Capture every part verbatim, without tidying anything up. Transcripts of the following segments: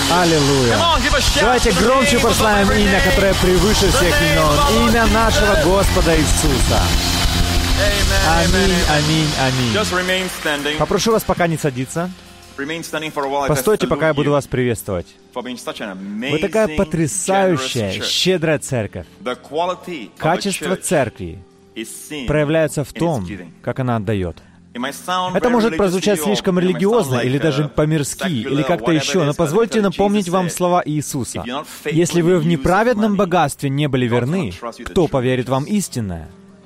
Аллилуйя. Давайте громче прославим имя, которое превыше всех имен. Имя нашего Господа Иисуса. Аминь, аминь, аминь. Попрошу вас пока не садиться. Постойте, пока я буду вас приветствовать. Вы такая потрясающая, щедрая церковь. Качество церкви проявляется в том, как она отдает. Это может прозвучать слишком религиозно, или даже по-мирски, или как-то еще, но позвольте напомнить вам слова Иисуса. «Если вы в неправедном богатстве не были верны, кто поверит вам истинное?»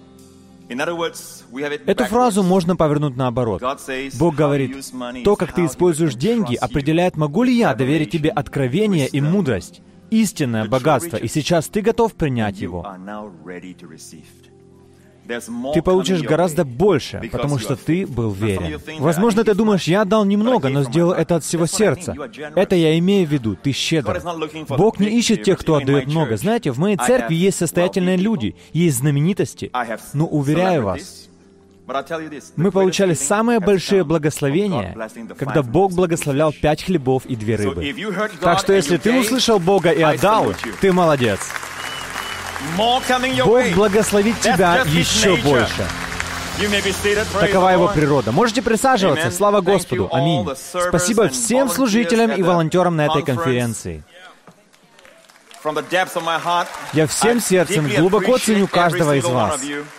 Эту фразу можно повернуть наоборот. Бог говорит, то, как ты используешь деньги, определяет, могу ли я доверить тебе откровение и мудрость, истинное богатство, и сейчас ты готов принять его. Ты получишь гораздо больше, потому что ты был верен. Возможно, ты думаешь, я отдал немного, но сделал это от всего сердца. Это я имею в виду, ты щедр. Бог не ищет тех, кто отдает много. Знаете, в моей церкви есть состоятельные люди, есть знаменитости, но, уверяю вас, мы получали самые большие благословения, когда Бог благословлял пять хлебов и две рыбы. Так что, если ты услышал Бога и отдал, ты молодец. Бог благословит тебя еще больше. Такова Его природа. Можете присаживаться. Слава Господу. Аминь. Спасибо всем служителям и волонтерам на этой конференции. Я всем сердцем глубоко ценю каждого из вас.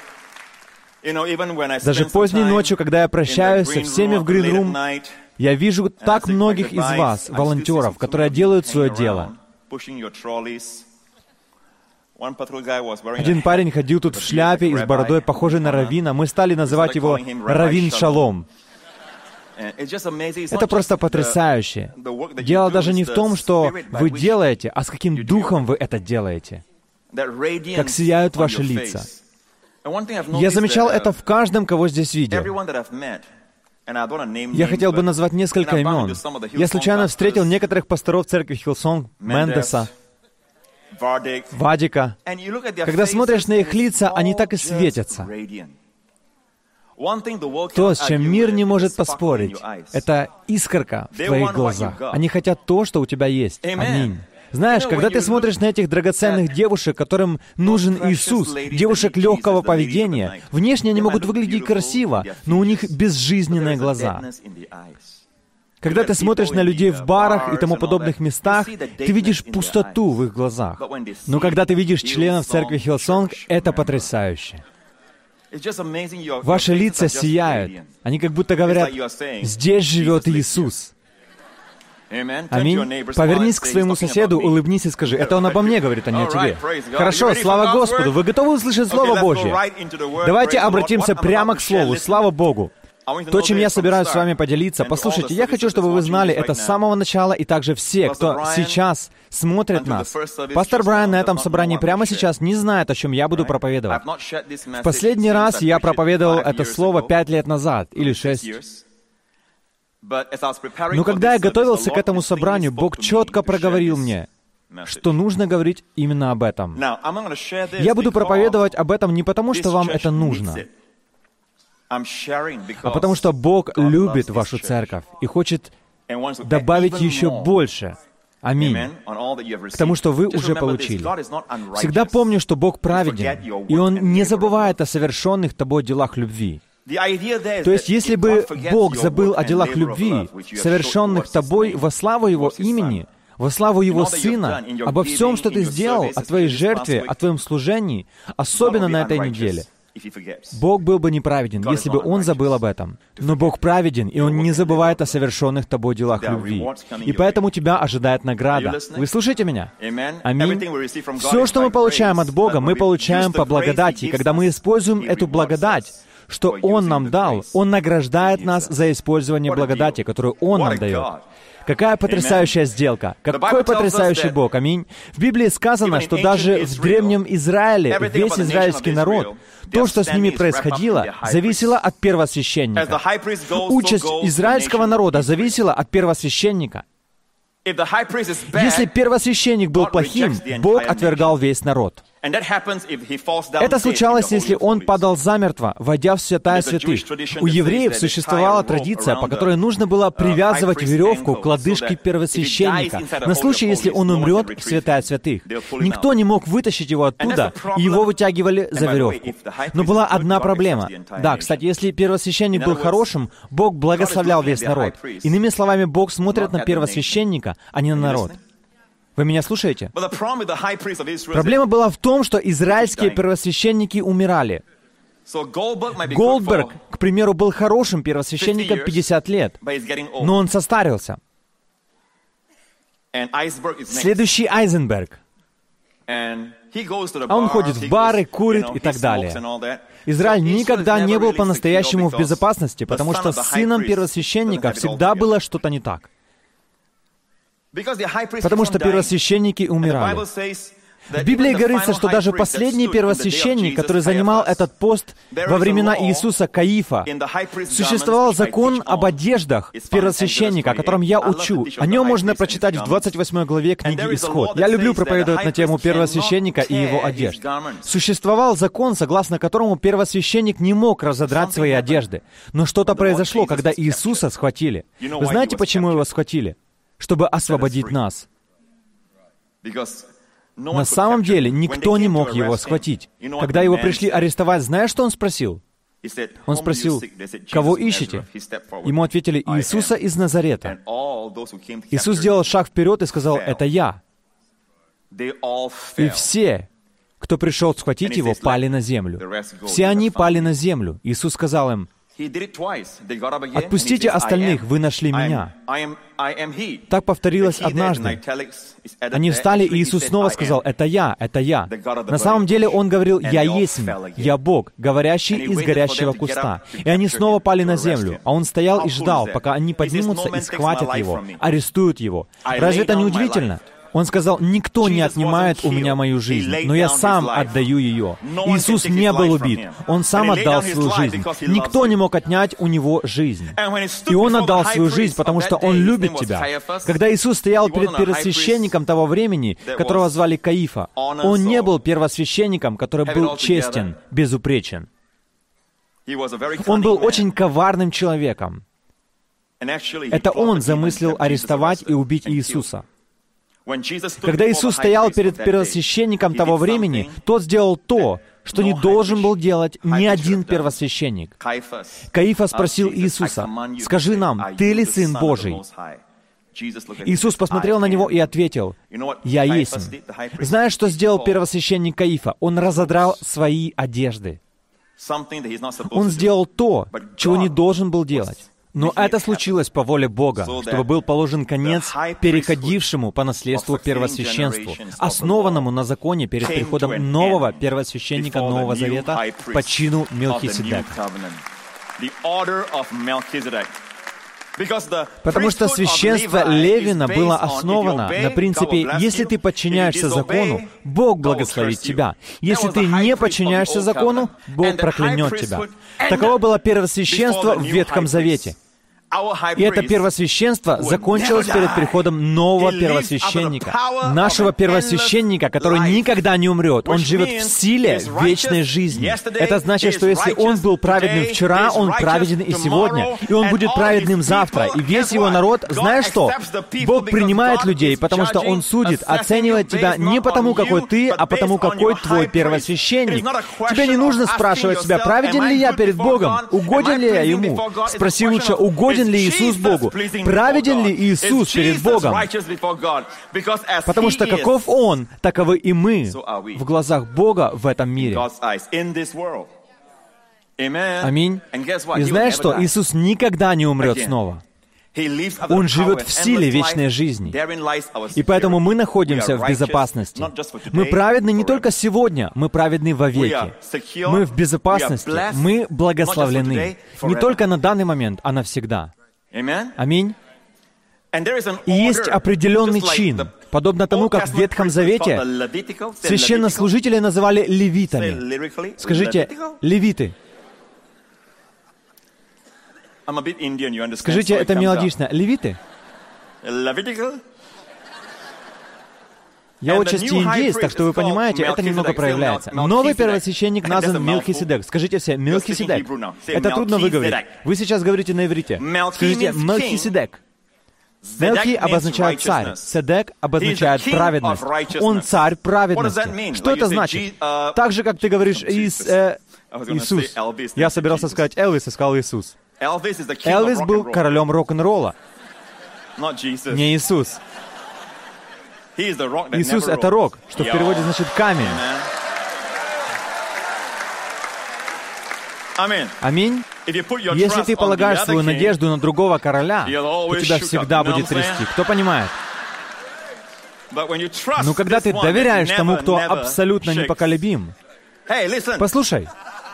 Даже поздней ночью, когда я прощаюсь со всеми в Green Room, я вижу так многих из вас, волонтеров, которые делают свое дело. Один парень ходил тут в шляпе и с бородой, похожей на раввина. Мы стали называть его Раввин Шалом. Это просто потрясающе. Дело даже не в том, что вы делаете, а с каким духом вы это делаете. Как сияют ваши лица. Я замечал это в каждом, кого здесь видел. Я хотел бы назвать несколько имен. Я случайно встретил некоторых пасторов церкви Хиллсонг, Мендеса, Вадика. Когда смотришь на их лица, они так и светятся. То, с чем мир не может поспорить, это искорка в твоих глазах. Они хотят то, что у тебя есть. Аминь. Знаешь, когда ты смотришь на этих драгоценных девушек, которым нужен Иисус, девушек легкого поведения, внешне они могут выглядеть красиво, но у них безжизненные глаза. Когда ты смотришь на людей в барах и тому подобных местах, ты видишь пустоту в их глазах. Но когда ты видишь членов церкви Хиллсонг, это потрясающе. Ваши лица сияют. Они как будто говорят, «Здесь живет Иисус». Аминь. Повернись к своему соседу, улыбнись и скажи, «Это он обо мне говорит, а не о тебе». Хорошо, слава Господу. Вы готовы услышать Слово Божье? Давайте обратимся прямо к Слову. Слава Богу. То, чем я собираюсь с вами поделиться, послушайте, я хочу, чтобы вы знали это с самого начала, и также все, кто сейчас смотрит нас. Пастор Брайан на этом собрании прямо сейчас не знает, о чем я буду проповедовать. В последний раз я проповедовал это слово пять лет назад, или шесть. Но когда я готовился к этому собранию, Бог четко проговорил мне, что нужно говорить именно об этом. Я буду проповедовать об этом не потому, что вам это нужно, а потому что Бог любит вашу церковь и хочет добавить еще больше. Аминь. К тому, что вы уже получили. Всегда помню, что Бог праведен, и Он не забывает о совершенных тобой делах любви. То есть, если бы Бог забыл о делах любви, совершенных тобой во славу Его имени, во славу Его Сына, обо всем, что ты сделал, о твоей жертве, о твоем служении, особенно на этой неделе, Бог был бы неправеден, если бы Он забыл об этом. Но Бог праведен, и Он не забывает о совершенных тобой делах любви. И поэтому тебя ожидает награда. Вы слушаете меня? Аминь. Все, что мы получаем от Бога, мы получаем по благодати. Когда мы используем эту благодать, что Он нам дал, Он награждает нас за использование благодати, которую Он нам дает. Какая потрясающая сделка! Какой потрясающий Бог! Аминь! В Библии сказано, что даже в древнем Израиле весь израильский народ, то, что с ними происходило, зависело от первосвященника. Участь израильского народа зависела от первосвященника. Если первосвященник был плохим, Бог отвергал весь народ. Это случалось, если он падал замертво, войдя в святая святых. У евреев существовала традиция, по которой нужно было привязывать веревку к лодыжке первосвященника на случай, если он умрет в святая святых. Никто не мог вытащить его оттуда, и его вытягивали за веревку. Но была одна проблема. Да, кстати, если первосвященник был хорошим, Бог благословлял весь народ. Иными словами, Бог смотрит на первосвященника, а не на народ. Вы меня слушаете? Проблема была в том, что израильские первосвященники умирали. Голдберг, к примеру, был хорошим первосвященником пятьдесят лет, но он состарился. Следующий Айзенберг. А он ходит в бары, курит и так далее. Израиль никогда не был по-настоящему в безопасности, потому что с сыном первосвященника всегда было что-то не так. Потому что первосвященники умирали. В Библии говорится, что даже последний первосвященник, который занимал этот пост во времена Иисуса, Каифа, существовал закон об одеждах первосвященника, о котором я учу. О нем можно прочитать в двадцать восьмой главе книги «Исход». Я люблю проповедовать на тему первосвященника и его одежд. Существовал закон, согласно которому первосвященник не мог разодрать свои одежды. Но что-то произошло, когда Иисуса схватили. Вы знаете, почему его схватили? Чтобы освободить нас. На самом деле, никто не мог его схватить. Когда его пришли арестовать, знаешь, что он спросил? Он спросил, «Кого ищете?» Ему ответили, «Иисуса из Назарета». Иисус сделал шаг вперед и сказал, «Это я». И все, кто пришел схватить его, пали на землю. Все они пали на землю. Иисус сказал им, «Отпустите остальных, вы нашли меня». Так повторилось однажды. Они встали, и Иисус снова сказал, «Это я, это я». На самом деле Он говорил, «Я есть, я Бог, говорящий из горящего куста». И они снова пали на землю, а Он стоял и ждал, пока они поднимутся и схватят Его, арестуют Его. Разве это не удивительно? Он сказал, «Никто не отнимает у меня мою жизнь, но я сам отдаю ее». Иисус не был убит. Он сам отдал свою жизнь. Никто не мог отнять у Него жизнь. И Он отдал свою жизнь, потому что Он любит тебя. Когда Иисус стоял перед первосвященником того времени, которого звали Каифа, Он не был первосвященником, который был честен, безупречен. Он был очень коварным человеком. Это он замыслил арестовать и убить Иисуса. Когда Иисус стоял перед первосвященником того времени, тот сделал то, что не должен был делать ни один первосвященник. Каифа спросил Иисуса, «Скажи нам, ты ли Сын Божий?» Иисус посмотрел на него и ответил, «Я есть». Знаешь, что сделал первосвященник Каифа? Он разодрал свои одежды. Он сделал то, чего не должен был делать. Но это случилось по воле Бога, чтобы был положен конец переходившему по наследству первосвященству, основанному на законе перед приходом нового первосвященника Нового Завета по чину Мелхиседека. Потому что священство Левина было основано на принципе, если ты подчиняешься закону, Бог благословит тебя. Если ты не подчиняешься закону, Бог проклянет тебя. Таково было первосвященство в Ветхом Завете. И это первосвященство закончилось перед приходом нового первосвященника, нашего первосвященника, который никогда не умрет. Он живет в силе вечной жизни. Это значит, что если он был праведным вчера, он праведен и сегодня, и он будет праведным завтра. И весь его народ, знаешь что? Бог принимает людей, потому что Он судит, оценивает тебя не потому, какой ты, а потому, какой твой первосвященник. Тебе не нужно спрашивать себя, праведен ли я перед Богом, угоден ли я Ему. Спроси лучше, угоден ли Иисус Богу? Праведен ли Иисус перед Богом? Потому что каков Он, таковы и мы в глазах Бога в этом мире. Аминь. И знаешь что? Иисус никогда не умрет снова. Он живет в силе вечной жизни. И поэтому мы находимся в безопасности. Мы праведны не только сегодня, мы праведны вовеки. Мы в безопасности, мы благословлены. Не только на данный момент, а навсегда. Аминь. И есть определенный чин, подобно тому, как в Ветхом Завете священнослужители называли левитами. Скажите, левиты. Скажите, это мелодично. Левиты? Я отчасти индеец, так что вы понимаете, это немного проявляется. Новый первосвященник назван Мелхиседек. Скажите все, Мелхиседек. Это трудно выговорить. Вы сейчас говорите на иврите. Скажите Мелхиседек. Мелхи обозначает царь, Седек обозначает праведность. Он царь праведности. Что это значит? Так же, как ты говоришь Ис, э, Иисус. Я собирался сказать Элвис, и сказал Иисус. Элвис был королем рок-н-ролла. Не Иисус. Иисус — это рок, что в переводе значит камень. Аминь. Если ты полагаешь свою надежду на другого короля, то тебя всегда будет трясти. Кто понимает? Но когда ты доверяешь тому, кто абсолютно непоколебим, послушай,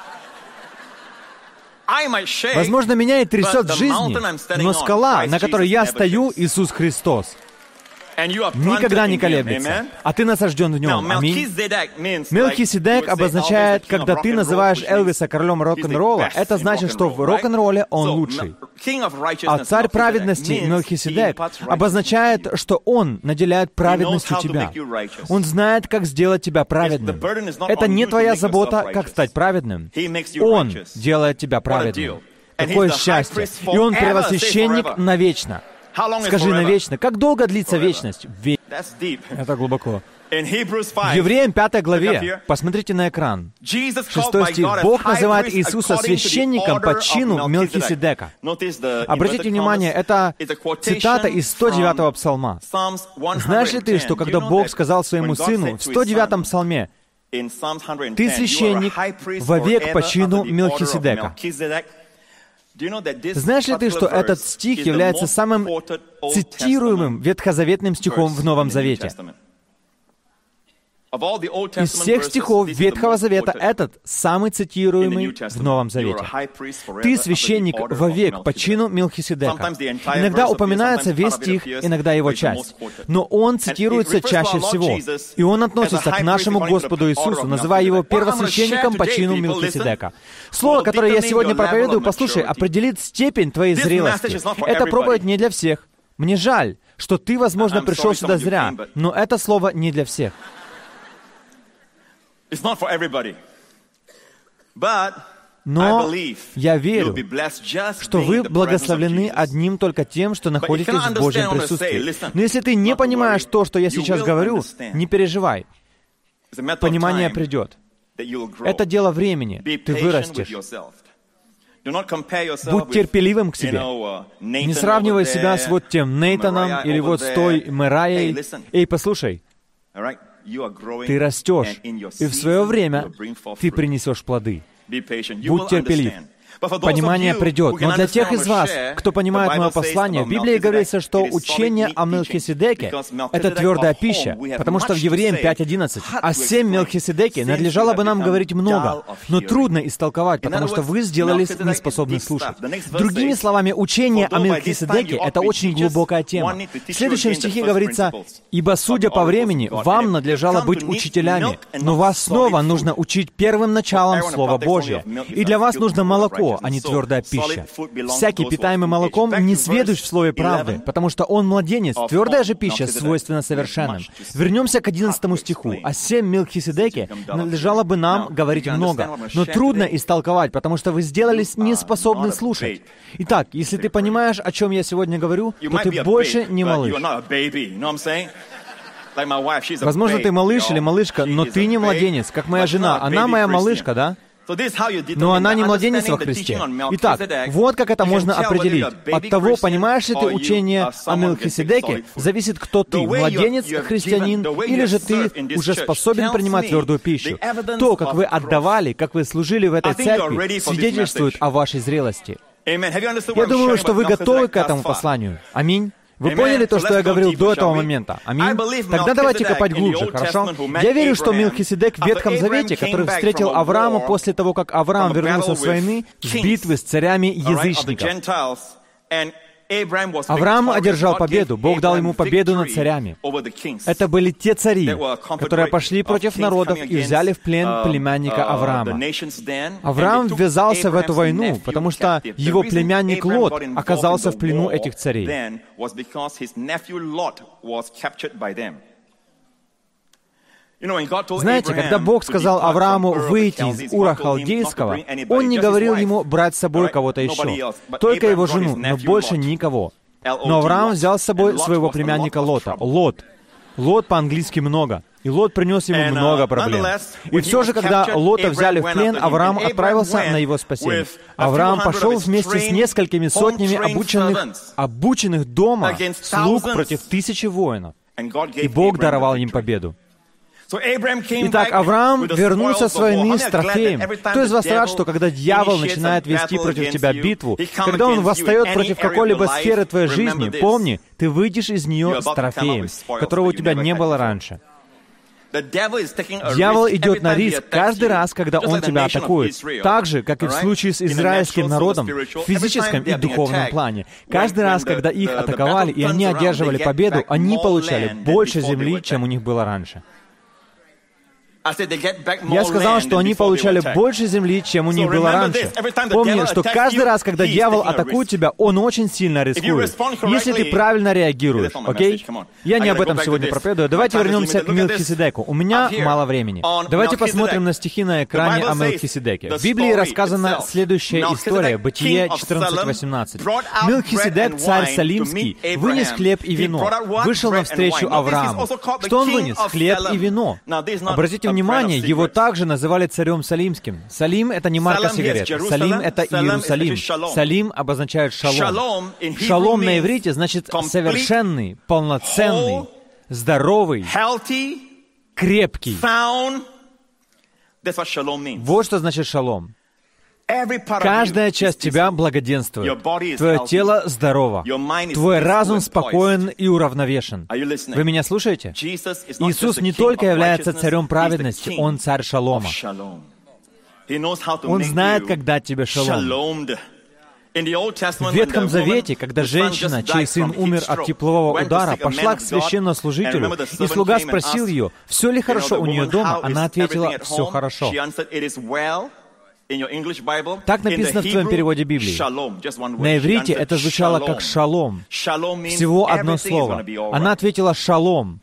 возможно, меня и трясет в жизни, но скала, на которой я стою, Иисус Христос, никогда не колеблется, а ты насажден в нем. Аминь. Мелхиседек обозначает, когда ты называешь Элвиса королем рок-н-ролла, это значит, что в рок-н-ролле он лучший. А царь праведности Мелхиседек обозначает, что он наделяет праведностью тебя. Он знает, как сделать тебя праведным. Это не твоя забота, как стать праведным. Он делает тебя праведным. Какое счастье! И он первосвященник навечно. Скажи навечно. Как долго длится вечность? Ве... Это глубоко. В Евреям пятой главе, посмотрите на экран, шестой стих, Бог называет Иисуса священником по чину Мелхиседека. Обратите внимание, это цитата из сто девятого псалма. Знаешь ли ты, что когда Бог сказал своему сыну в сто девятом псалме, «Ты священник вовек по чину Мелхиседека». Знаешь ли ты, что этот стих является самым цитируемым ветхозаветным стихом в Новом Завете? Из всех стихов Ветхого Завета этот самый цитируемый в Новом Завете. «Ты священник вовек по чину Мелхиседека». Иногда упоминается весь стих, иногда его часть. Но он цитируется чаще всего. И он относится к нашему Господу Иисусу, называя его первосвященником по чину Мелхиседека. Слово, которое я сегодня проповедую, послушай, определит степень твоей зрелости. Это проповедь не для всех. Мне жаль, что ты, возможно, пришел сюда зря, но это слово не для всех. Но я верю, что вы благословлены одним только тем, что находитесь в Божьем присутствии. Но если ты не понимаешь то, что я сейчас говорю, не переживай. Понимание придет. Это дело времени. Ты вырастешь. Будь терпеливым к себе. Не сравнивай себя с вот тем Нейтаном или вот с той Мерайей. Эй, послушай. Ты растешь, и в свое время ты принесешь плоды. Будь терпелив. Понимание придет. Но для тех из вас, кто понимает мое послание, в Библии говорится, что учение о Мелхиседеке — это твердая пища, потому что в Евреям пять одиннадцать о семь Мелхиседеке надлежало бы нам говорить много, но трудно истолковать, потому что вы сделались неспособны слушать. Другими словами, учение о Мелхиседеке — это очень глубокая тема. В следующем стихе говорится: «Ибо, судя по времени, вам надлежало быть учителями, но вас снова нужно учить первым началом Слова Божия, и для вас нужно молоко, а не твердая пища. Всякий, питаемый молоком, не сведущ в слове правды, потому что он младенец. Твердая же пища свойственна совершенным». Вернемся к одиннадцатому стиху. О сем Мелхиседеке надлежало бы нам говорить много, но трудно истолковать, потому что вы сделались неспособны слушать. Итак, если ты понимаешь, о чем я сегодня говорю, то ты больше не малыш. Возможно, ты малыш или малышка, но ты не младенец, как моя жена. Она моя малышка, да? Но она не младенец во Христе. Итак, вот как это можно определить. От того, понимаешь ли ты учение о Мелхиседеке, зависит, кто ты, младенец, христианин, или же ты уже способен принимать твердую пищу. То, как вы отдавали, как вы служили в этой церкви, свидетельствует о вашей зрелости. Я думаю, что вы готовы к этому посланию. Аминь. Вы поняли то, что я говорил до этого момента? Аминь? Тогда давайте копать глубже, хорошо? Я верю, что Мелхиседек в Ветхом Завете, который встретил Авраама после того, как Авраам вернулся с войны, с битвы с царями язычников. Авраам одержал победу, Бог дал ему победу над царями. Это были те цари, которые пошли против народов и взяли в плен племянника Авраама. Авраам ввязался в эту войну, потому что его племянник Лот оказался в плену этих царей. Знаете, когда Бог сказал Аврааму выйти из Ура Халдейского, Он не говорил ему брать с собой кого-то еще, только его жену, но больше никого. Но Авраам взял с собой своего племянника Лота. Лот. Лот по-английски «много». И Лот принес ему много проблем. И все же, когда Лота взяли в плен, Авраам отправился на его спасение. Авраам пошел вместе с несколькими сотнями обученных, обученных дома слуг против тысячи воинов. И Бог даровал им победу. Итак, Авраам вернулся с войны с трофеем. Кто из вас рад, что когда дьявол начинает вести против тебя битву, когда он восстает против какой-либо сферы твоей жизни, помни, ты выйдешь из нее с трофеем, которого у тебя не было раньше. Дьявол идет на риск каждый раз, когда он тебя атакует. Так же, как и в случае с израильским народом в физическом и духовном плане. Каждый раз, когда их атаковали, и они одерживали победу, они получали больше земли, чем у них было раньше. Я сказал, что они получали больше земли, чем у них было раньше. Помни, что каждый раз, когда дьявол атакует тебя, он очень сильно рискует. Если ты правильно реагируешь, окей? Я не об этом сегодня проповедую. Давайте вернемся к Мелхиседеку. У меня мало времени. Давайте посмотрим на стихи на экране о Мелхиседеке. В Библии рассказана следующая история, Бытие четырнадцать восемнадцать. Мелхиседек, царь Салимский, вынес хлеб и вино, вышел навстречу Аврааму. Что он вынес? Хлеб и вино. Обратите внимание, его также называли царем Салимским. Салим — это не марка сигарет. Салим — это Иерусалим. Салим обозначает шалом. Шалом на иврите значит совершенный, полноценный, здоровый, крепкий. Вот что значит шалом. Каждая часть тебя благоденствует. Твое тело здорово. Твой разум спокоен и уравновешен. Вы меня слушаете? Иисус не только является царем праведности, Он царь шалома. Он знает, как дать тебе шалом. В Ветхом Завете, когда женщина, чей сын умер от теплового удара, пошла к священнослужителю, и слуга спросил ее, все ли хорошо у нее дома, она ответила, все хорошо. Так написано в твоем переводе Библии. На иврите это звучало как «шалом». Всего одно слово. Она ответила «шалом».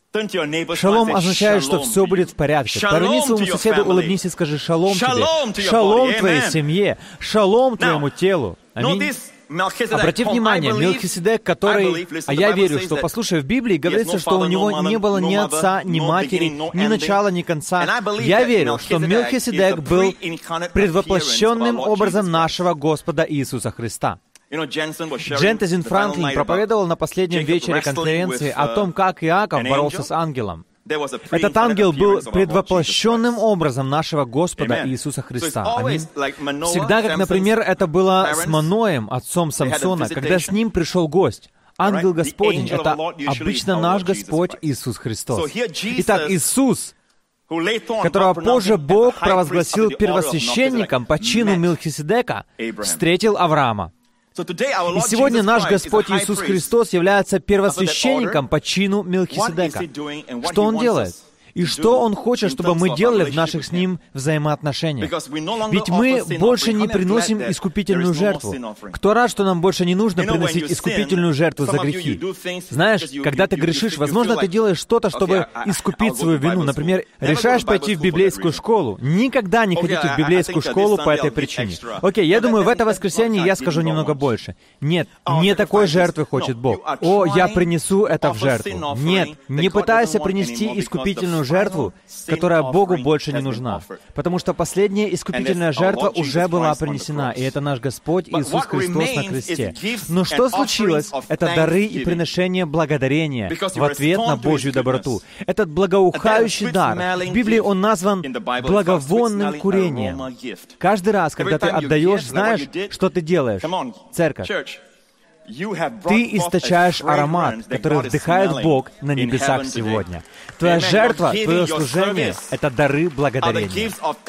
Шалом означает, что все будет в порядке. Поверни своему соседу, улыбнись и скажи «шалом тебе». Шалом твоей семье. Шалом твоему телу. Аминь. Обрати внимание, Мелхиседек, который, а я верю, что, послушай, в Библии говорится, что у него не было ни отца, ни матери, ни начала, ни конца. Я верю, что Мелхиседек был предвоплощенным образом нашего Господа Иисуса Христа. Джентезин Франклин проповедовал на последнем вечере конференции о том, как Иаков боролся с ангелом. Этот ангел был предвоплощенным образом нашего Господа Иисуса Христа. Аминь. Всегда, как, например, это было с Маноем, отцом Самсона, когда с ним пришел гость. Ангел Господень — это обычно наш Господь Иисус Христос. Итак, Иисус, которого позже Бог провозгласил первосвященником по чину Мелхиседека, встретил Авраама. И сегодня наш Господь Иисус Христос является первосвященником по чину Мелхиседека. Что Он делает? И что Он хочет, чтобы мы делали в наших с Ним взаимоотношениях? Ведь мы больше не приносим искупительную жертву. Кто рад, что нам больше не нужно приносить искупительную жертву за грехи? Знаешь, когда ты грешишь, возможно, ты делаешь что-то, чтобы искупить свою вину. Например, решаешь пойти в библейскую школу. Никогда не ходите в библейскую школу по этой причине. Окей, я думаю, в это воскресенье я скажу немного больше. Нет, не такой жертвы хочет Бог. О, я принесу это в жертву. Нет, не пытайся принести искупительную жертву, которая Богу больше не нужна. Потому что последняя искупительная жертва уже была принесена, и это наш Господь Иисус Христос на кресте. Но что случилось? Это дары и приношение благодарения в ответ на Божью доброту. Этот благоухающий дар, в Библии он назван благовонным курением. Каждый раз, когда ты отдаешь, знаешь, что ты делаешь? Церковь. Ты источаешь аромат, который вдыхает Бог на небесах сегодня. Твоя жертва, твое служение — это дары благодарения.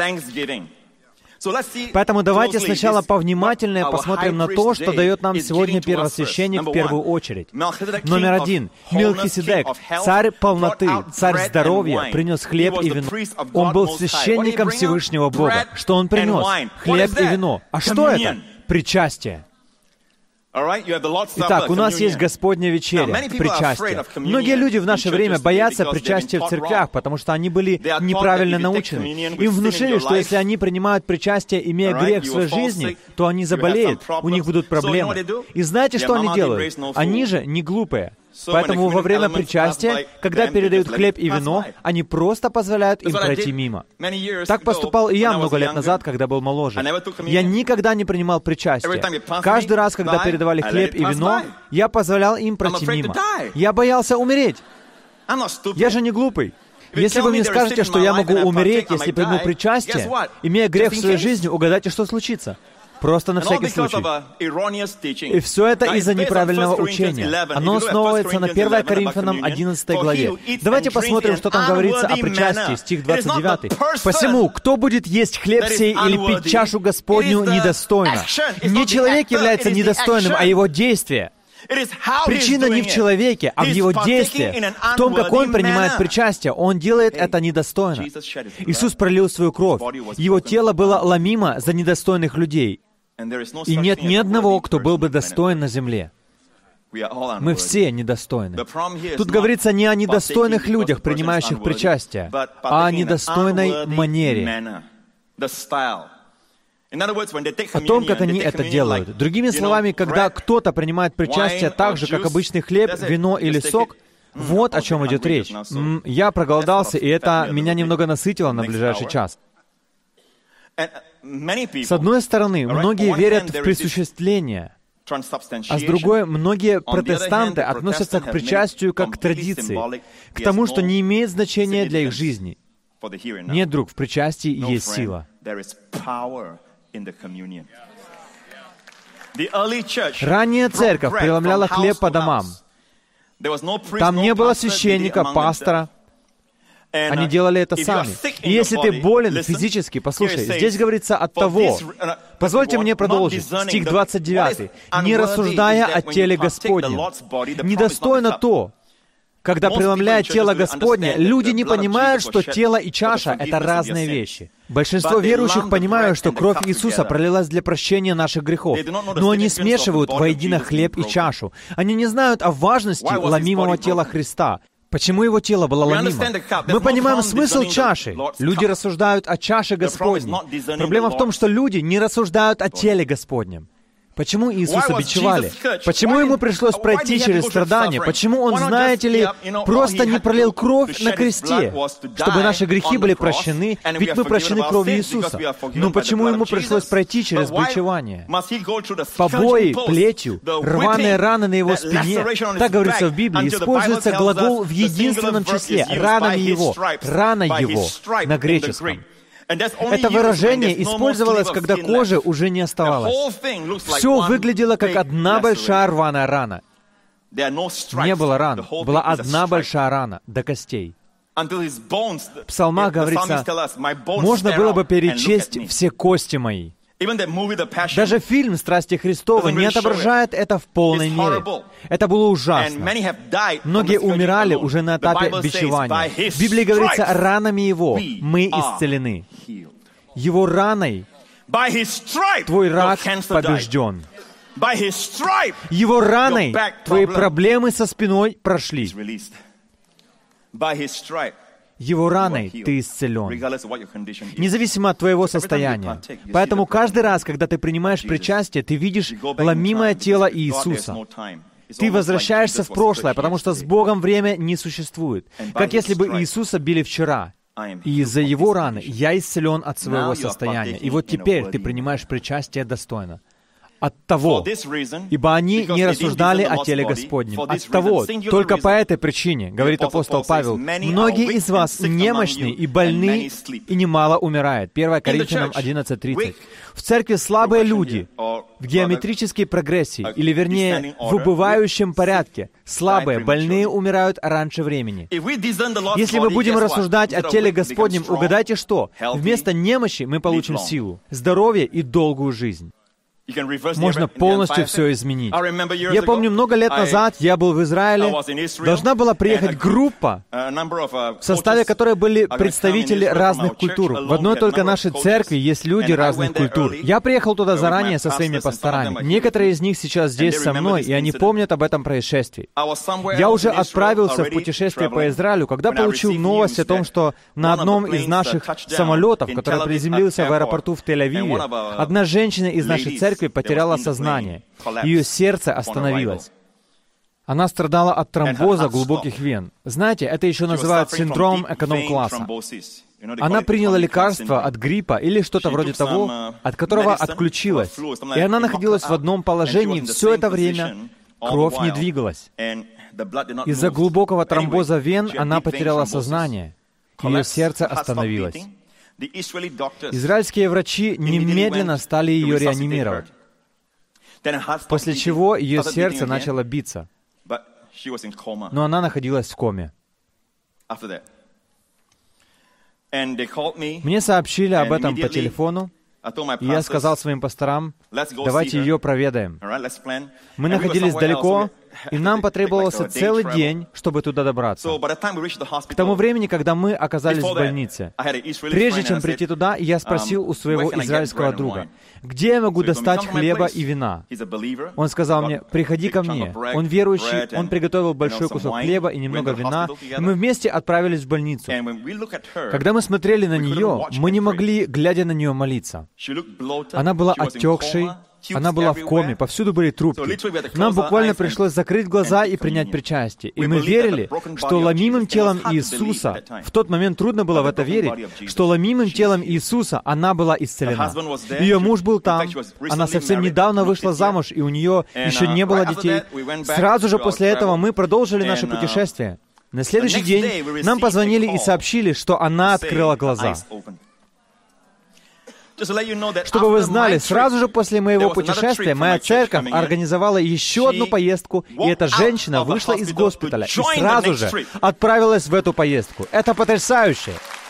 Поэтому давайте сначала повнимательнее посмотрим на то, что дает нам сегодня первосвященник в первую очередь. Номер один. Мелхиседек, царь полноты, царь здоровья, принес хлеб и вино. Он был священником Всевышнего Бога. Что он принес? Хлеб и вино. А что это? Причастие. Итак, у нас есть Господня вечеря, причастие. Многие люди в наше время боятся причастия в церквях, потому что они были неправильно научены. Им внушили, что если они принимают причастие, имея грех в своей жизни, то они заболеют, у них будут проблемы. И знаете, что они делают? Они же не глупые. Поэтому во время причастия, когда передают хлеб и вино, они просто позволяют им пройти мимо. Так поступал и я много лет назад, когда был моложе. Я никогда не принимал причастие. Каждый раз, когда передавали хлеб и вино, я позволял им пройти мимо. Я боялся умереть. Я же не глупый. Если вы мне скажете, что я могу умереть, если приму причастие, имея грех в своей жизни, угадайте, что случится. Просто на всякий случай. И все это из-за неправильного учения. Оно основывается на первое Коринфянам одиннадцатой главе. Давайте посмотрим, что там говорится о причастии, стих двадцать девятый. «Посему, кто будет есть хлеб сей или пить чашу Господню недостойно?» Не человек является недостойным, а его действие. Причина не в человеке, а в его действии, в том, как он принимает причастие. Он делает это недостойно. Иисус пролил свою кровь. Его тело было ломимо за недостойных людей. И нет ни одного, кто был бы достоин на земле. Мы все недостойны. Тут говорится не о недостойных людях, принимающих причастие, а о недостойной манере. О том, как они это делают. Другими словами, когда кто-то принимает причастие так же, как обычный хлеб, вино или сок, вот о чем идет речь. М, я проголодался, и это меня немного насытило на ближайший час. С одной стороны, многие верят в присуществление, а с другой, многие протестанты относятся к причастию как к традиции, к тому, что не имеет значения для их жизни. Нет, друг, в причастии есть сила. Ранняя церковь преломляла хлеб по домам. Там не было священника, пастора. Они делали это сами. И если ты болен физически, послушай, здесь говорится от того, позвольте мне продолжить, стих двадцать девятый, «Не рассуждая о теле Господнем». Недостойно то, когда преломляет тело Господне, люди не понимают, что тело и чаша — это разные вещи. Большинство верующих понимают, что кровь Иисуса пролилась для прощения наших грехов, но они смешивают воедино хлеб и чашу. Они не знают о важности ломимого тела Христа. Почему его тело было ломимо? Мы понимаем смысл чаши. Люди рассуждают о чаше Господней. Проблема в том, что люди не рассуждают о теле Господнем. Почему Иисуса бичевали? Почему Ему пришлось пройти через страдания? Почему Он, знаете ли, просто не пролил кровь на кресте, чтобы наши грехи были прощены, ведь мы прощены кровью Иисуса. Но почему Ему пришлось пройти через бичевание? Побои, плетью, рваные раны на Его спине. Так говорится в Библии, используется глагол в единственном числе, ранами Его, рана Его на греческом. Это выражение использовалось, когда кожи уже не оставалось. Все выглядело как одна большая рваная рана. Не было ран, была одна большая рана до костей. В псалмах говорится, можно было бы перечесть все кости мои. Даже фильм «Страсти Христовы» не отображает это в полной мере. Это было ужасно. Многие умирали уже на этапе бичевания. В Библии говорится, ранами Его мы исцелены. Его раной твой рак побежден. Его раной твои проблемы со спиной прошли. Его раной ты исцелен, независимо от твоего состояния. Поэтому каждый раз, когда ты принимаешь причастие, ты видишь ломимое тело Иисуса. Ты возвращаешься в прошлое, потому что с Богом время не существует. Как если бы Иисуса били вчера. И из-за Его раны я исцелен от своего состояния. И вот теперь ты принимаешь причастие достойно. От того, ибо они не рассуждали о теле Господнем. От того, только по этой причине, говорит апостол Павел, многие из вас немощны и больны, и немало умирает. первое Коринфянам одиннадцать тридцать. В церкви слабые люди в геометрической прогрессии, или вернее, в убывающем порядке. Слабые, больные умирают раньше времени. Если мы будем рассуждать о теле Господнем, угадайте что? Вместо немощи мы получим силу, здоровье и долгую жизнь. можно полностью все изменить. Я помню, много лет назад я был в Израиле, должна была приехать группа, в составе которой были представители разных культур. В одной только нашей церкви есть люди разных культур. Я приехал туда заранее со своими пасторами. Некоторые из них сейчас здесь со мной, и они помнят об этом происшествии. Я уже отправился в путешествие по Израилю, когда получил новость о том, что на одном из наших самолетов, который приземлился в аэропорту в Тель-Авиве, одна женщина из нашей церкви потеряла сознание. Ее сердце остановилось. Она страдала от тромбоза глубоких вен. Знаете, это еще называют синдром эконом-класса. Она приняла лекарство от гриппа или что-то вроде того, от которого отключилась. И она находилась в одном положении все это время. Кровь не двигалась. Из-за глубокого тромбоза вен она потеряла сознание. Ее сердце остановилось. Израильские врачи немедленно стали ее реанимировать, после чего ее сердце начало биться, но она находилась в коме. Мне сообщили об этом по телефону, и я сказал своим пасторам, давайте ее проведаем. Мы находились далеко, и нам потребовался целый день, чтобы туда добраться. К тому времени, когда мы оказались в больнице, прежде чем прийти туда, я спросил у своего израильского друга, где я могу достать хлеба и вина? Он сказал мне, приходи ко мне. Он верующий, он приготовил большой кусок хлеба и немного вина, и мы вместе отправились в больницу. Когда мы смотрели на нее, мы не могли, глядя на нее, молиться. Она была отекшей, она была в коме, повсюду были трубки. Нам буквально пришлось закрыть глаза и принять причастие. И мы верили, что ломимым телом Иисуса, в тот момент трудно было в это верить, что ломимым телом Иисуса она была исцелена. Ее муж был там, она совсем недавно вышла замуж, и у нее еще не было детей. Сразу же после этого мы продолжили наше путешествие. На следующий день нам позвонили и сообщили, что она открыла глаза. Чтобы вы знали, сразу же после моего путешествия моя церковь организовала еще одну поездку, и эта женщина вышла из госпиталя и сразу же отправилась в эту поездку. Это потрясающе!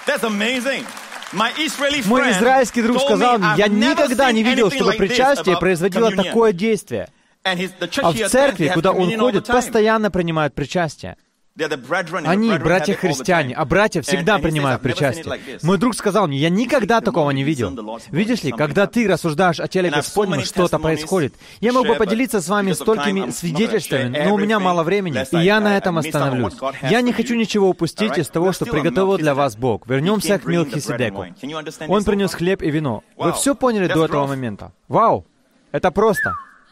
Мой израильский друг сказал мне, я никогда не видел, чтобы причастие производило такое действие. А в церкви, куда он ходит, постоянно принимают причастие. Они, братья-христиане, а братья всегда принимают причастие. Мой друг сказал мне, я никогда такого не видел. Видишь ли, когда ты рассуждаешь о теле Господнем, что-то происходит. Я мог бы поделиться с вами столькими свидетельствами, но у меня мало времени, и я на этом остановлюсь. Я не хочу ничего упустить из того, что приготовил для вас Бог. Вернемся к Мелхиседеку. Он принес хлеб и вино. Вы все поняли до этого момента? Вау! Это просто.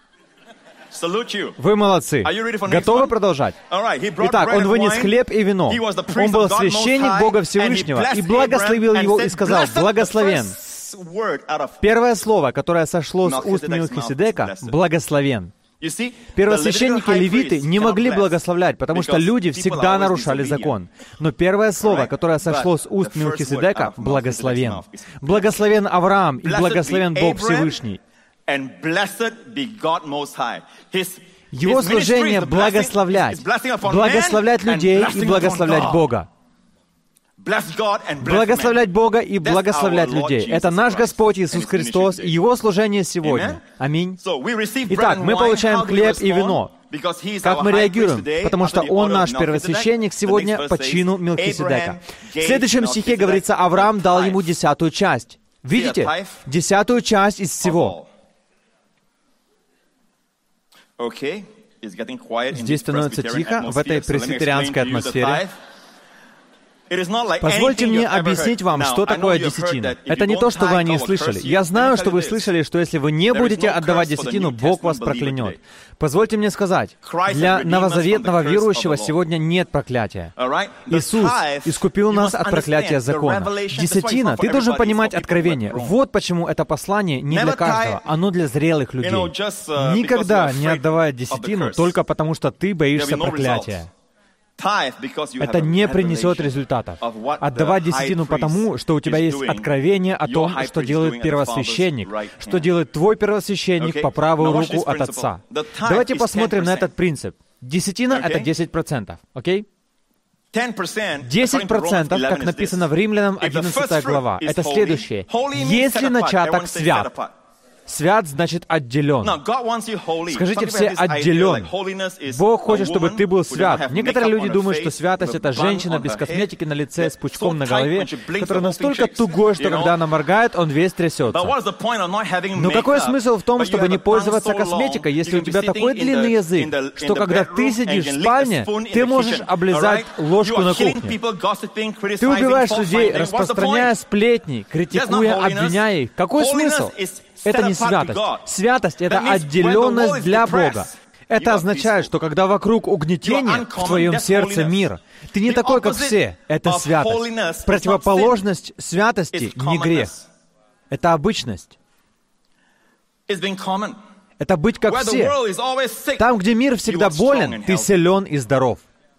Вы молодцы. Готовы продолжать? Итак, он вынес хлеб и вино. Он был священник Бога Всевышнего и благословил его и сказал, «Благословен». Первое слово, которое сошло с уст Мелхиседека, «благословен». Первосвященники левиты не могли благословлять, потому что люди всегда нарушали закон. Но первое слово, которое сошло с уст Мелхиседека, «благословен». Благословен Авраам и благословен Бог Всевышний. Его служение — благословлять. Благословлять людей и благословлять Бога. Благословлять Бога и благословлять людей. Это наш Господь Иисус Христос и Его служение сегодня. Аминь. Итак, мы получаем хлеб и вино. Как мы реагируем? Потому что Он наш первосвященник сегодня по чину Мелхиседека. В следующем стихе говорится, Авраам дал ему десятую часть. Видите? Десятую часть из всего. Здесь становится тихо в этой пресвитерианской атмосфере. Позвольте мне объяснить вам, что такое десятина. Это не то, что вы о ней слышали. Я знаю, что вы слышали, что если вы не будете отдавать десятину, Бог вас проклянет. Позвольте мне сказать, для новозаветного верующего сегодня нет проклятия. Иисус искупил нас от проклятия закона. Десятина, ты должен понимать откровение. Вот почему это послание не для каждого, оно для зрелых людей. Никогда не отдавай десятину только потому, что ты боишься проклятия. Это не принесет результатов. Отдавать десятину потому, что у тебя есть откровение о том, что делает первосвященник, что делает твой первосвященник по правую руку от Отца. Давайте посмотрим на этот принцип. Десятина — это десять процентов, окей? десять процентов, как написано в Римлянам одиннадцатая глава, это следующее. Если начаток свят, Свят значит отделен. Скажите все отделен. Бог хочет, чтобы ты был свят. Некоторые люди думают, что святость — это женщина без косметики на лице, с пучком на голове, которая настолько тугой, что когда она моргает, он весь трясется. Но какой смысл в том, чтобы не пользоваться косметикой, если у тебя такой длинный язык, что когда ты сидишь в спальне, ты можешь облизать ложку на кухне. Ты убиваешь людей, распространяя сплетни, критикуя, обвиняя их. Какой смысл? Это не святость. Святость — это отделенность для Бога. Это означает, что когда вокруг угнетение, в твоем сердце мир, ты не такой, как все. Это святость. Противоположность святости — не грех. Это обычность. Это быть как все. Там, где мир всегда болен, ты силен и здоров.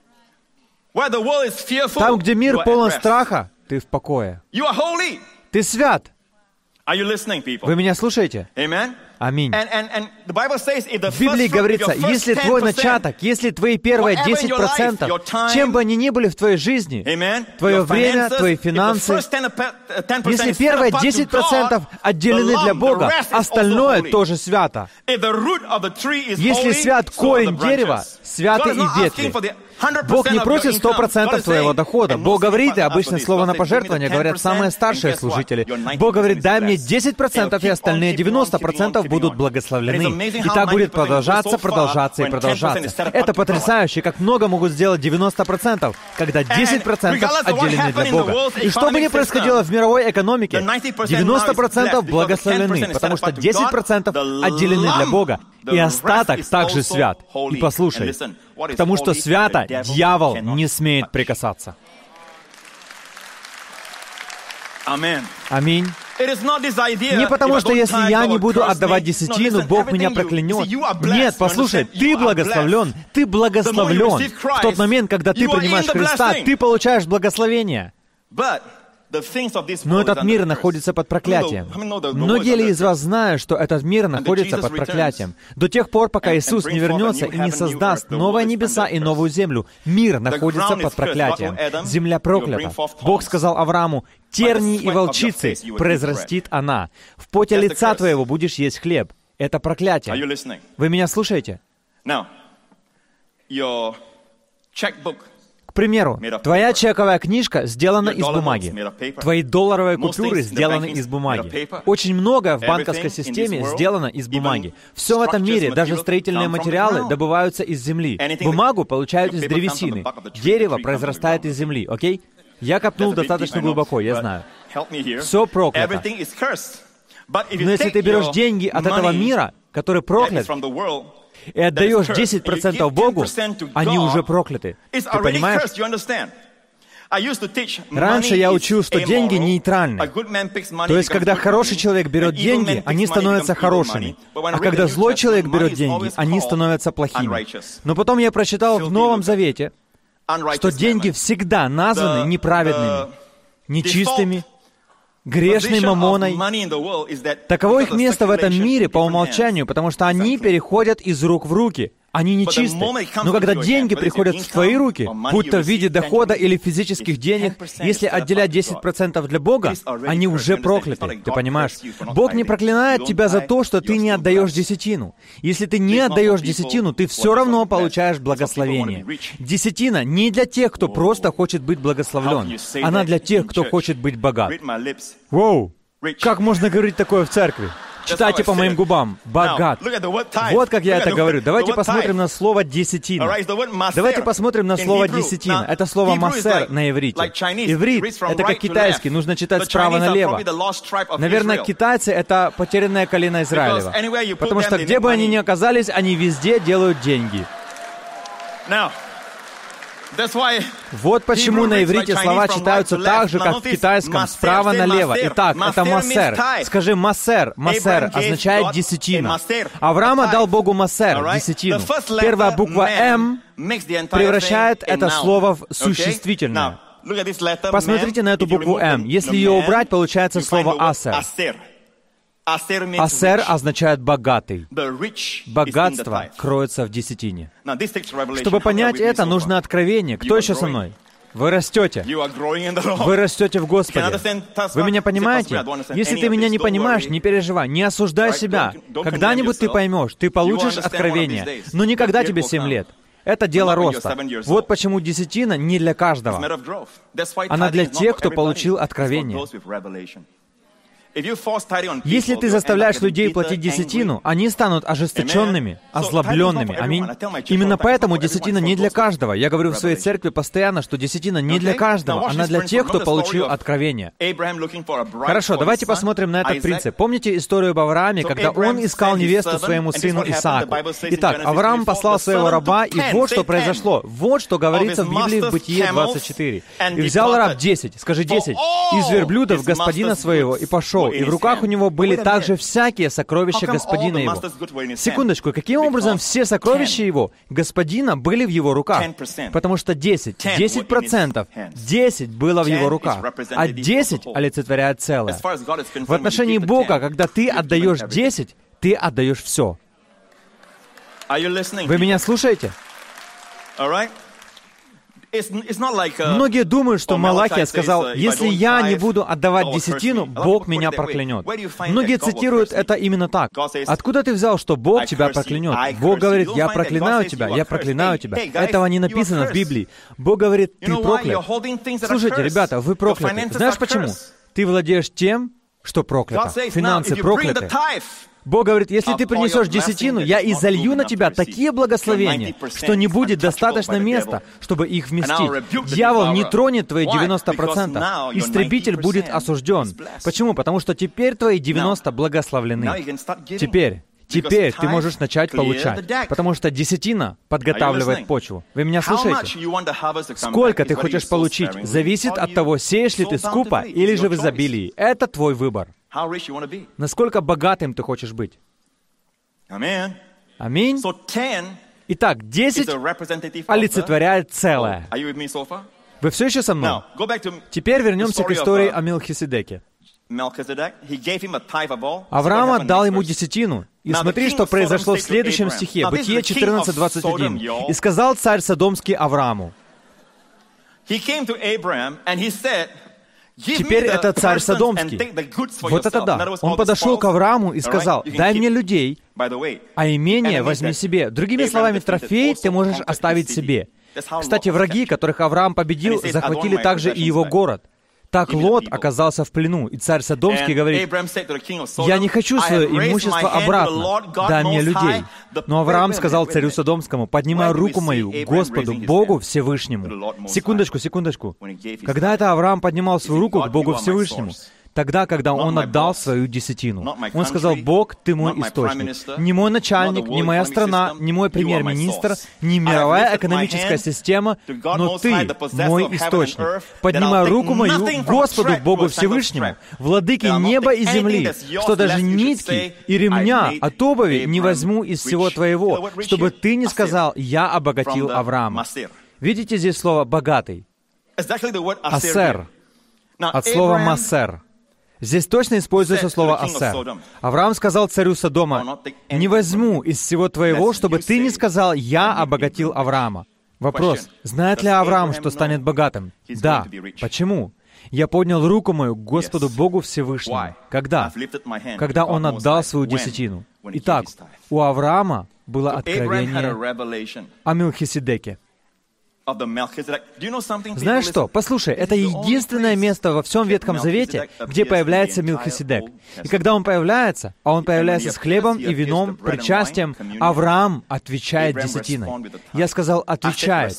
Там, где мир полон страха, ты в покое. Ты свят. Вы меня слушаете? Аминь. В Библии говорится, если твой начаток, если твои первые десять процентов, чем бы они ни были в твоей жизни, твое время, твои финансы, если первые десять процентов отделены для Бога, остальное тоже свято. Если свят корень дерева, святы и ветви. Бог не просит сто процентов твоего дохода. Бог говорит, и обычно слово на пожертвование говорят самые старшие служители. Бог говорит, дай мне десять процентов, и остальные девяносто процентов будут благословлены. И так будет продолжаться, продолжаться и продолжаться. Это потрясающе, как много могут сделать девяносто процентов, когда десять процентов отделены для Бога. И что бы ни происходило в мировой экономике, девяносто процентов благословлены, потому что десять процентов отделены для Бога, и остаток также свят. И послушай, к тому, что свято, дьявол не смеет прикасаться. Аминь. Не потому, что если я не буду отдавать десятину, Бог меня проклянет. Нет, послушай, ты благословлен, ты благословлен. В тот момент, когда ты принимаешь Христа, ты получаешь благословение. Но этот мир находится под проклятием. Многие ли из вас знают, что этот мир находится под проклятием? До тех пор, пока Иисус не вернется и не создаст новые небеса и новую землю, мир находится под проклятием. Земля проклята. Бог сказал Аврааму, тернии и волчицы произрастит она. В поте лица твоего будешь есть хлеб. Это проклятие. Вы меня слушаете? К примеру, твоя чековая книжка сделана из бумаги. Твои долларовые купюры сделаны из бумаги. Очень многое в банковской системе сделано из бумаги. Все в этом мире, даже строительные материалы, добываются из земли. Бумагу получают из древесины. Дерево произрастает из земли, окей? Я копнул достаточно глубоко, я знаю. Все проклято. Но если ты берешь деньги от этого мира, который проклят, и отдаешь десять процентов Богу, они уже прокляты. Ты понимаешь? Раньше я учил, что деньги нейтральны. То есть, когда хороший человек берет деньги, они становятся хорошими. А когда злой человек берет деньги, они становятся плохими. Но потом я прочитал в Новом Завете, что деньги всегда названы неправедными, нечистыми, грешной мамоной. Таково их место в этом мире по умолчанию, потому что они переходят из рук в руки. Они нечисты. Но когда деньги приходят в твои руки, будь то в виде дохода или физических денег, если отделять десять процентов для Бога, они уже прокляты. Ты понимаешь? Бог не проклинает тебя за то, что ты не отдаешь десятину. Если ты не отдаешь десятину, ты все равно получаешь благословение. Десятина не для тех, кто просто хочет быть благословлен. Она для тех, кто хочет быть богат. Воу! Как можно говорить такое в церкви? Читайте по моим губам. Богат. Вот как я это говорю. Давайте посмотрим на слово «десятина». Давайте посмотрим на слово «десятина». Это слово «массер» на иврите. Иврит — это как китайский, нужно читать справа налево. Наверное, китайцы — это потерянное колено Израилева. Потому что где бы они ни оказались, они везде делают деньги. Вот почему на иврите слова читаются так же, как в китайском, справа налево. Итак, это массер. Скажи массер. Массер означает десятина. Авраам отдал Богу массер, десятину. Первая буква «М» превращает это слово в существительное. Посмотрите на эту букву «М». Если ее убрать, получается слово «асер». Асер означает «богатый». Богатство кроется в десятине. Чтобы понять это, нужно откровение. Кто еще со мной? Вы растете. Вы растете в Господе. Вы меня понимаете? Если ты меня не понимаешь, не переживай, не осуждай себя. Когда-нибудь ты поймешь, ты получишь откровение, но никогда тебе семь лет. Это дело роста. Вот почему десятина не для каждого. Она для тех, кто получил откровение. Если ты заставляешь людей платить десятину, они станут ожесточенными, озлобленными. Аминь. Именно поэтому десятина не для каждого. Я говорю в своей церкви постоянно, что десятина не для каждого. Она для тех, кто получил откровение. Хорошо, давайте посмотрим на этот принцип. Помните историю об Аврааме, когда он искал невесту своему сыну Исааку? Итак, Авраам послал своего раба, и вот что произошло. Вот что говорится в Библии в Бытие двадцать четыре. «И взял раб десять, скажи десять, из верблюдов господина своего, и пошел, и в руках у него были также всякие сокровища господина его». Секундочку, каким образом все сокровища его, господина, были в его руках? Потому что десять, десять процентов, десять было в его руках, а десять олицетворяет целое. В отношении Бога, когда ты отдаешь десять, ты отдаешь все. Вы меня слушаете? Многие думают, что Малахия сказал, «Если я не буду отдавать десятину, Бог меня проклянет». Многие цитируют это именно так. Откуда ты взял, что Бог тебя проклянет? Бог говорит, «Я проклинаю тебя, я проклинаю тебя». Этого не написано в Библии. Бог говорит, «Ты проклят». Слушайте, ребята, вы прокляты. Знаешь почему? Ты владеешь тем, что проклято. Финансы прокляты. Бог говорит, если ты принесешь десятину, я изолью на тебя такие благословения, что не будет достаточно места, чтобы их вместить. Дьявол не тронет твои девяносто процентов. Истребитель будет осужден. Почему? Потому что теперь твои девяносто благословлены. Теперь. Теперь ты можешь начать получать, потому что десятина подготавливает почву. Вы меня слушаете? Сколько ты хочешь получить, зависит от того, сеешь ли ты скупо или же в изобилии. Это твой выбор. Насколько богатым ты хочешь быть? Аминь. Итак, десять олицетворяет целое. Вы все еще со мной? Теперь вернемся к истории о Мелхиседеке. Авраам отдал ему десятину. И смотри, что произошло в следующем стихе, Бытие четырнадцать двадцать один. «И сказал царь Содомский Аврааму». Теперь это царь Содомский. Вот это да. Он подошел к Аврааму и сказал, «Дай мне людей, а имение возьми себе». Другими словами, трофей ты можешь оставить себе. Кстати, враги, которых Авраам победил, захватили также и его город. Так Лот оказался в плену, и царь Содомский говорит, «Я не хочу свое имущество обратно, дай мне людей». Но Авраам сказал царю Содомскому, «Поднимай руку мою к Господу, Богу Всевышнему». Секундочку, секундочку. Когда это Авраам поднимал свою руку к Богу Всевышнему? Тогда, когда он отдал свою десятину. Он сказал, «Бог, ты мой источник. Не мой начальник, не моя страна, не мой премьер-министр, не мировая экономическая система, но ты мой источник. Поднимай руку мою к Господу, Богу Всевышнему, владыке неба и земли, что даже нитки и ремня от обуви не возьму из всего твоего, чтобы ты не сказал, я обогатил Авраама». Видите здесь слово «богатый»? «Асер». От слова «массер». Здесь точно используется слово «асер». Авраам сказал царю Содома, «Не возьму из всего твоего, чтобы ты не сказал, я обогатил Авраама». Вопрос, знает ли Авраам, что станет богатым? Да. Почему? «Я поднял руку мою к Господу Богу Всевышнему». Когда? Когда он отдал свою десятину. Итак, у Авраама было откровение о Мелхиседеке. Знаешь что? Послушай, это единственное место во всем Ветхом Завете, где появляется Мелхиседек. И когда он появляется, а он появляется с хлебом и вином, причастием, Авраам отвечает десятиной. Я сказал «отвечает».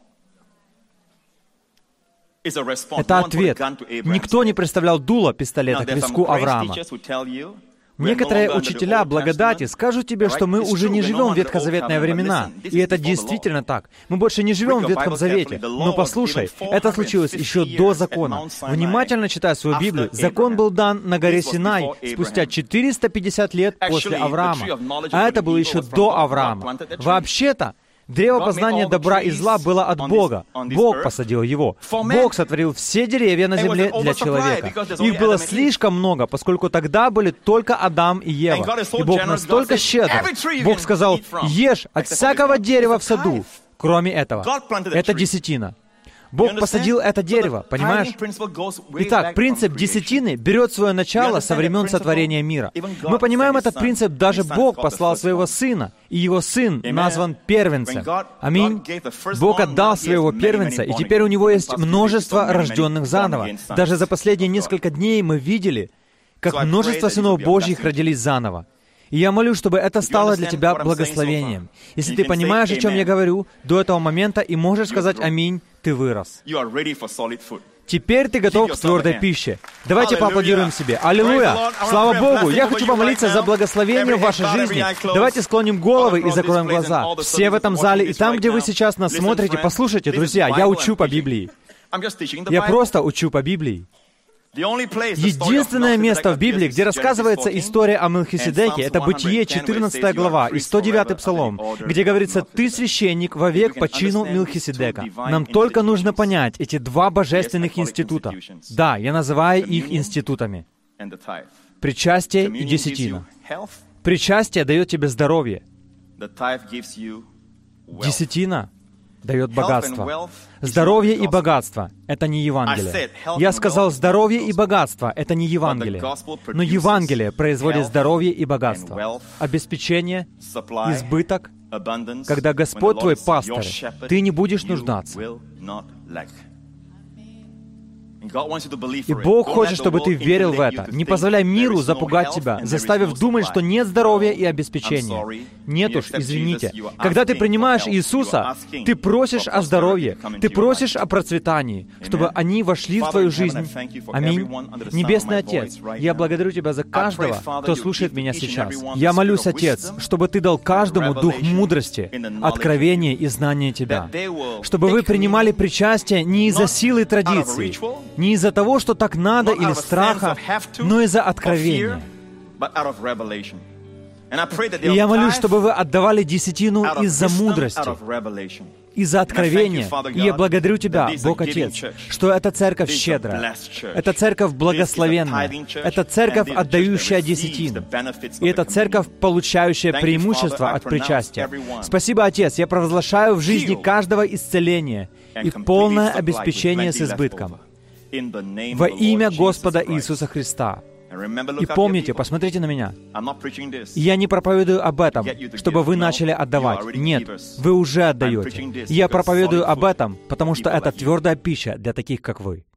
Это ответ. Никто не представлял дуло пистолета к виску Авраама. Некоторые учителя благодати скажут тебе, что мы уже не живем в ветхозаветные времена. И это действительно так. Мы больше не живем в Ветхом Завете. Но послушай, это случилось еще до закона. Внимательно читай свою Библию. Закон был дан на горе Синай спустя четыреста пятьдесят лет после Авраама. А это было еще до Авраама. Вообще-то, древо познания добра и зла было от Бога. Бог посадил его. Бог сотворил все деревья на земле для человека. Их было слишком много, поскольку тогда были только Адам и Ева. И Бог настолько щедр. Бог сказал, ешь от всякого дерева в саду, кроме этого. Это десятина. Бог посадил это дерево, понимаешь? Итак, принцип десятины берет свое начало со времен сотворения мира. Мы понимаем этот принцип, даже Бог послал своего Сына, и Его Сын назван первенцем. Аминь. Бог отдал своего первенца, и теперь у Него есть множество рожденных заново. Даже за последние несколько дней мы видели, как множество сынов Божьих родились заново. И я молю, чтобы это стало для тебя благословением. Если ты понимаешь, о чем я говорю, до этого момента, и можешь сказать «Аминь», ты вырос. Теперь ты готов к твердой пище. Давайте поаплодируем себе. Аллилуйя! Слава Богу! Я хочу помолиться за благословение в вашей жизни. Давайте склоним головы и закроем глаза. Все в этом зале и там, где вы сейчас нас смотрите, послушайте, друзья, я учу по Библии. Я просто учу по Библии. Единственное место в Библии, где рассказывается история о Мелхиседеке, это Бытие, четырнадцатая глава и сто девятый Псалом, где говорится «Ты священник вовек по чину Мелхиседека». Нам только нужно понять эти два божественных института. Да, я называю их институтами. Причастие и десятина. Причастие дает тебе здоровье. Десятина дает богатство. Здоровье и богатство — это не Евангелие. Я сказал, здоровье и богатство — это не Евангелие. Но Евангелие производит здоровье и богатство. Обеспечение, избыток. Когда Господь твой пастырь, ты не будешь нуждаться. И Бог хочет, чтобы ты верил в это. Не позволяй миру запугать тебя, заставив думать, что нет здоровья и обеспечения. Нет уж, извините. Когда ты принимаешь Иисуса, ты просишь о здоровье, ты просишь о процветании, чтобы они вошли в твою жизнь. Аминь. Небесный Отец, я благодарю Тебя за каждого, кто слушает меня сейчас. Я молюсь, Отец, чтобы Ты дал каждому дух мудрости, откровения и знания Тебя. Чтобы вы принимали причастие не из-за силы традиций, не из-за того, что так надо или страха, но из-за откровения. И я молюсь, чтобы вы отдавали десятину из-за мудрости, из-за откровения. И я благодарю Тебя, Бог Отец, что эта церковь щедрая, эта церковь благословенная, эта церковь, отдающая десятину, и эта церковь, получающая преимущество от причастия. Спасибо, Отец, я провозглашаю в жизни каждого исцеление и полное обеспечение с избытком. Во имя Господа Иисуса Христа. И помните, посмотрите на меня. Я не проповедую об этом, чтобы вы начали отдавать. Нет, вы уже отдаете. Я проповедую об этом, потому что это твердая пища для таких, как вы.